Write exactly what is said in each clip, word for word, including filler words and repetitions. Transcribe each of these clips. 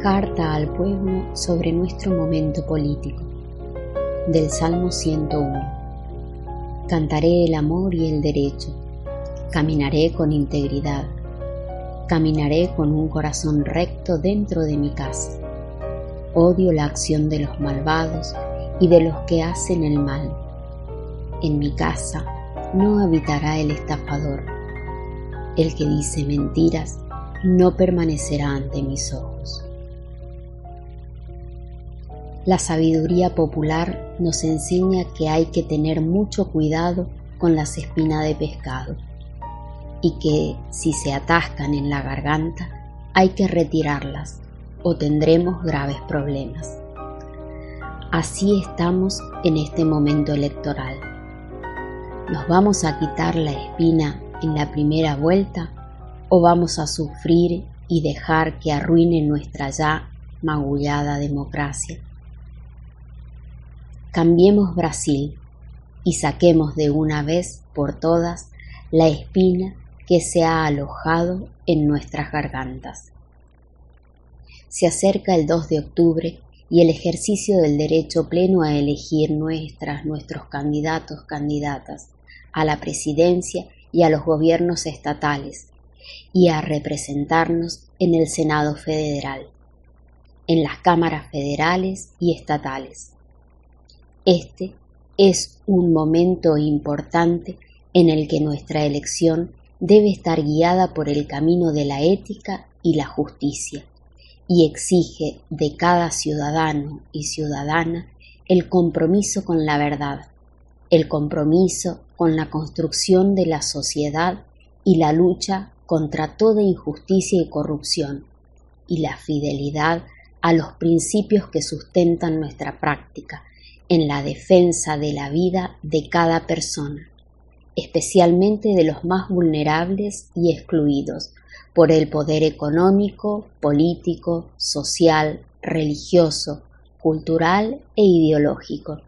Carta al pueblo sobre nuestro momento político. Del Salmo ciento uno. Cantaré el amor y el derecho. Caminaré con integridad. Caminaré con un corazón recto dentro de mi casa. Odio la acción de los malvados y de los que hacen el mal. En mi casa no habitará el estafador. El que dice mentiras no permanecerá ante mis ojos. La sabiduría popular nos enseña que hay que tener mucho cuidado con las espinas de pescado y que si se atascan en la garganta hay que retirarlas o tendremos graves problemas. Así estamos en este momento electoral. ¿Nos vamos a quitar la espina en la primera vuelta o vamos a sufrir y dejar que arruine nuestra ya magullada democracia? Cambiemos Brasil y saquemos de una vez por todas la espina que se ha alojado en nuestras gargantas. Se acerca el dos de octubre y el ejercicio del derecho pleno a elegir nuestras, nuestros candidatos, candidatas a la presidencia y a los gobiernos estatales y a representarnos en el Senado Federal, en las cámaras federales y estatales. Este es un momento importante en el que nuestra elección debe estar guiada por el camino de la ética y la justicia y exige de cada ciudadano y ciudadana el compromiso con la verdad, el compromiso con la construcción de la sociedad y la lucha contra toda injusticia y corrupción y la fidelidad a los principios que sustentan nuestra práctica en la defensa de la vida de cada persona, especialmente de los más vulnerables y excluidos por el poder económico, político, social, religioso, cultural e ideológico.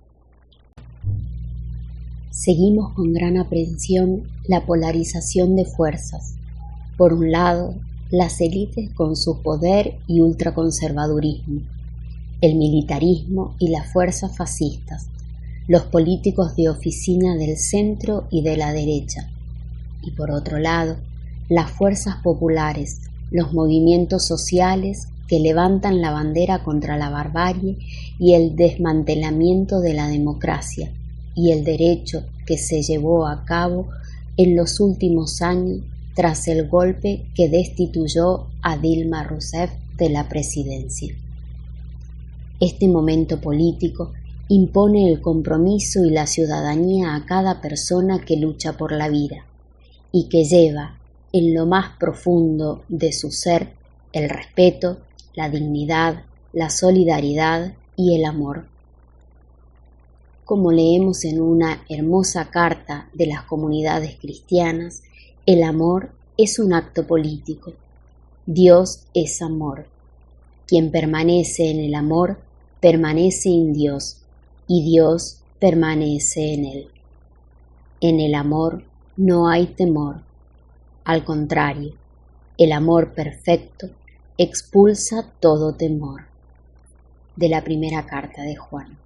Seguimos con gran aprensión la polarización de fuerzas. Por un lado, las élites con su poder y ultraconservadurismo, el militarismo y las fuerzas fascistas, los políticos de oficina del centro y de la derecha, y por otro lado, las fuerzas populares, los movimientos sociales que levantan la bandera contra la barbarie y el desmantelamiento de la democracia y el derecho que se llevó a cabo en los últimos años tras el golpe que destituyó a Dilma Rousseff de la presidencia. Este momento político impone el compromiso y la ciudadanía a cada persona que lucha por la vida y que lleva en lo más profundo de su ser el respeto, la dignidad, la solidaridad y el amor. Como leemos en una hermosa carta de las comunidades cristianas, el amor es un acto político. Dios es amor. Quien permanece en el amor, permanece en Dios, y Dios permanece en él. En el amor no hay temor. Al contrario, el amor perfecto expulsa todo temor. De la primera carta de Juan.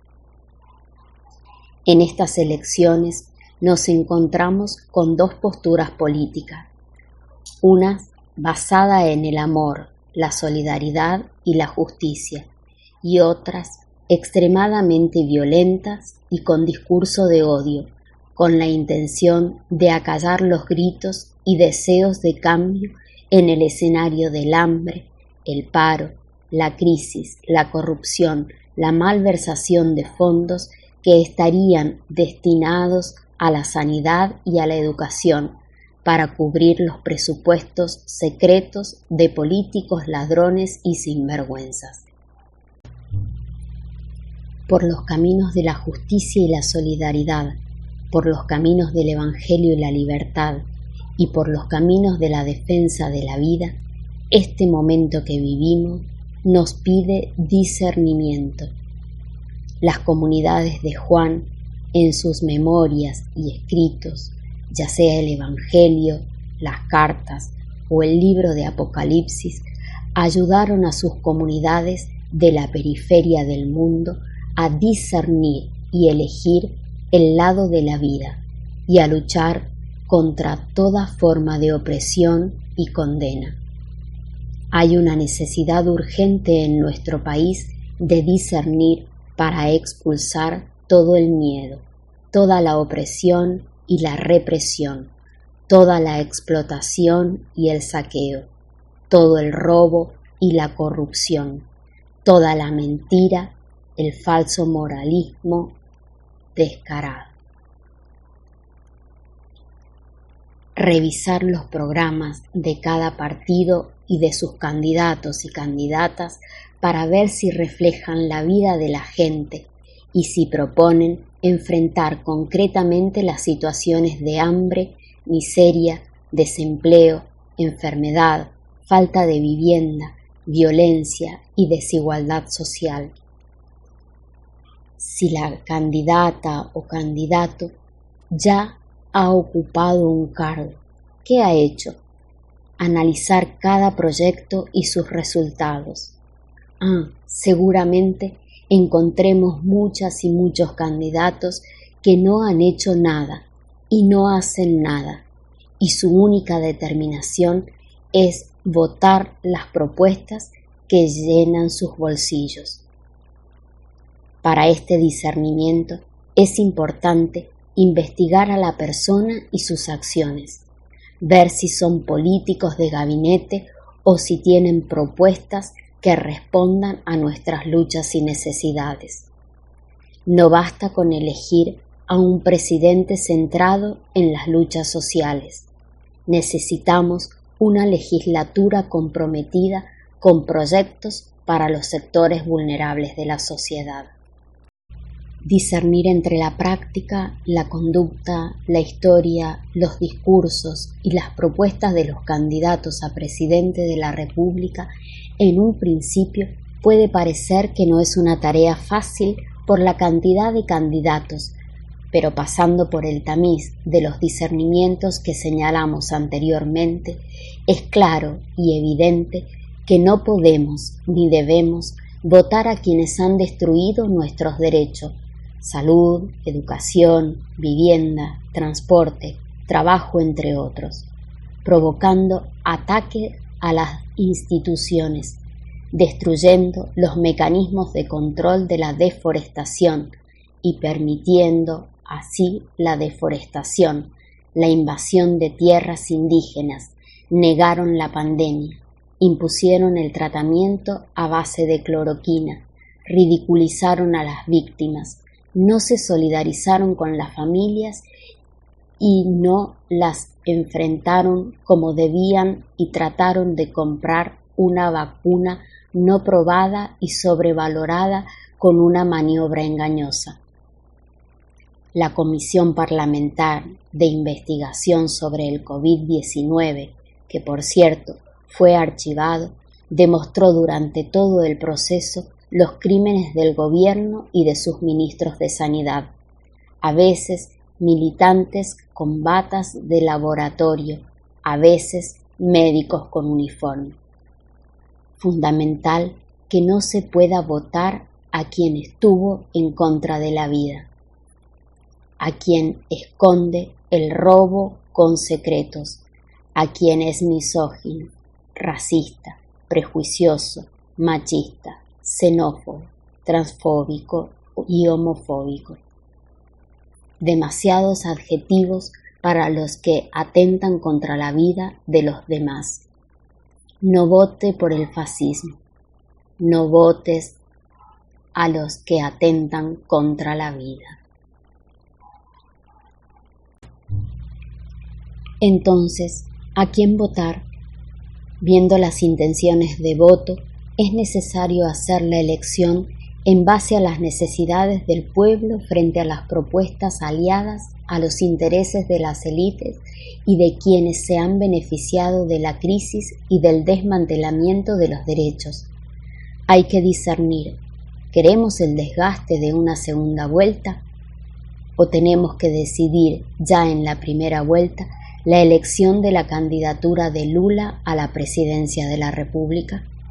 En estas elecciones nos encontramos con dos posturas políticas, una basada en el amor, la solidaridad y la justicia, y otras extremadamente violentas y con discurso de odio, con la intención de acallar los gritos y deseos de cambio en el escenario del hambre, el paro, la crisis, la corrupción, la malversación de fondos que estarían destinados a la sanidad y a la educación para cubrir los presupuestos secretos de políticos ladrones y sinvergüenzas. Por los caminos de la justicia y la solidaridad, por los caminos del Evangelio y la libertad, y por los caminos de la defensa de la vida, este momento que vivimos nos pide discernimiento. Las comunidades de Juan, en sus memorias y escritos, ya sea el Evangelio, las cartas o el libro de Apocalipsis, ayudaron a sus comunidades de la periferia del mundo a discernir y elegir el lado de la vida y a luchar contra toda forma de opresión y condena. Hay una necesidad urgente en nuestro país de discernir para expulsar todo el miedo, toda la opresión y la represión, toda la explotación y el saqueo, todo el robo y la corrupción, toda la mentira, el falso moralismo descarado. Revisar los programas de cada partido y de sus candidatos y candidatas para ver si reflejan la vida de la gente y si proponen enfrentar concretamente las situaciones de hambre, miseria, desempleo, enfermedad, falta de vivienda, violencia y desigualdad social. Si la candidata o candidato ya ha ocupado un cargo, ¿qué ha hecho? Analizar cada proyecto y sus resultados. Ah, seguramente encontremos muchas y muchos candidatos que no han hecho nada y no hacen nada, y su única determinación es votar las propuestas que llenan sus bolsillos. Para este discernimiento es importante investigar a la persona y sus acciones, ver si son políticos de gabinete o si tienen propuestas que respondan a nuestras luchas y necesidades. No basta con elegir a un presidente centrado en las luchas sociales. Necesitamos una legislatura comprometida con proyectos para los sectores vulnerables de la sociedad. Discernir entre la práctica, la conducta, la historia, los discursos y las propuestas de los candidatos a presidente de la República en un principio puede parecer que no es una tarea fácil por la cantidad de candidatos, pero pasando por el tamiz de los discernimientos que señalamos anteriormente, es claro y evidente que no podemos ni debemos votar a quienes han destruido nuestros derechos: salud, educación, vivienda, transporte, trabajo, entre otros, provocando ataque a las instituciones, destruyendo los mecanismos de control de la deforestación y permitiendo así la deforestación, la invasión de tierras indígenas, negaron la pandemia, impusieron el tratamiento a base de cloroquina, ridiculizaron a las víctimas, no se solidarizaron con las familias y no las enfrentaron como debían y trataron de comprar una vacuna no probada y sobrevalorada con una maniobra engañosa. La Comisión Parlamentar de Investigación sobre el COVID diecinueve, que por cierto fue archivado, demostró durante todo el proceso los crímenes del gobierno y de sus ministros de Sanidad, a veces militantes con batas de laboratorio, a veces médicos con uniforme. Fundamental que no se pueda votar a quien estuvo en contra de la vida, a quien esconde el robo con secretos, a quien es misógino, racista, prejuicioso, machista, xenófobo, transfóbico y homofóbico. Demasiados adjetivos para los que atentan contra la vida de los demás. No vote por el fascismo, no votes a los que atentan contra la vida. Entonces, ¿a quién votar? Viendo las intenciones de voto, es necesario hacer la elección en base a las necesidades del pueblo frente a las propuestas aliadas a los intereses de las élites y de quienes se han beneficiado de la crisis y del desmantelamiento de los derechos. Hay que discernir, ¿queremos el desgaste de una segunda vuelta? ¿O tenemos que decidir ya en la primera vuelta la elección de la candidatura de Lula a la presidencia de la República?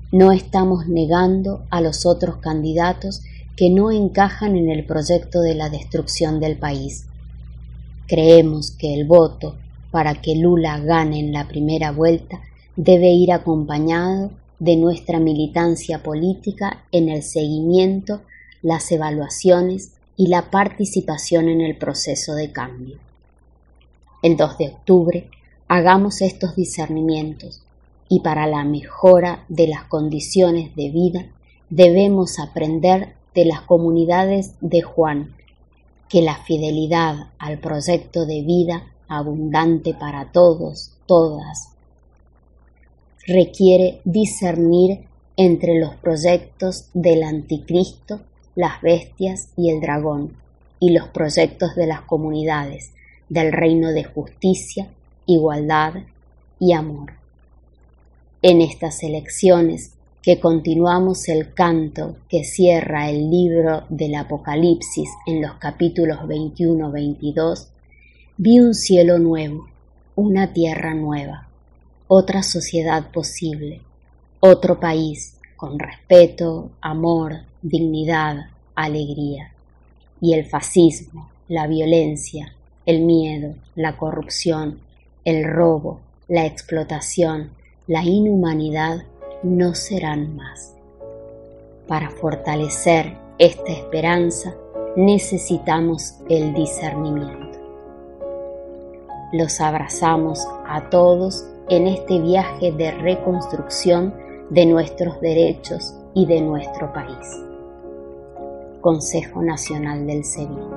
No estamos negando a los otros candidatos que no encajan en el proyecto de la destrucción del país. Creemos que el voto para que Lula gane en la primera vuelta debe ir acompañado de nuestra militancia política en el seguimiento, las evaluaciones y la participación en el proceso de cambio. El dos de octubre hagamos estos discernimientos y para la mejora de las condiciones de vida debemos aprender de las comunidades de Juan que la fidelidad al proyecto de vida abundante para todos, todas, requiere discernir entre los proyectos del anticristo, las bestias y el dragón, y los proyectos de las comunidades, del reino de justicia, igualdad y amor. En estas elecciones, que continuamos el canto que cierra el libro del Apocalipsis en los capítulos veintiuno veintidós, vi un cielo nuevo, una tierra nueva, otra sociedad posible, otro país con respeto, amor, dignidad, alegría. Y el fascismo, la violencia, el miedo, la corrupción, el robo, la explotación, la inhumanidad no serán más. Para fortalecer esta esperanza necesitamos el discernimiento. Los abrazamos a todos en este viaje de reconstrucción de nuestros derechos y de nuestro país. Consejo Nacional del SEBIN.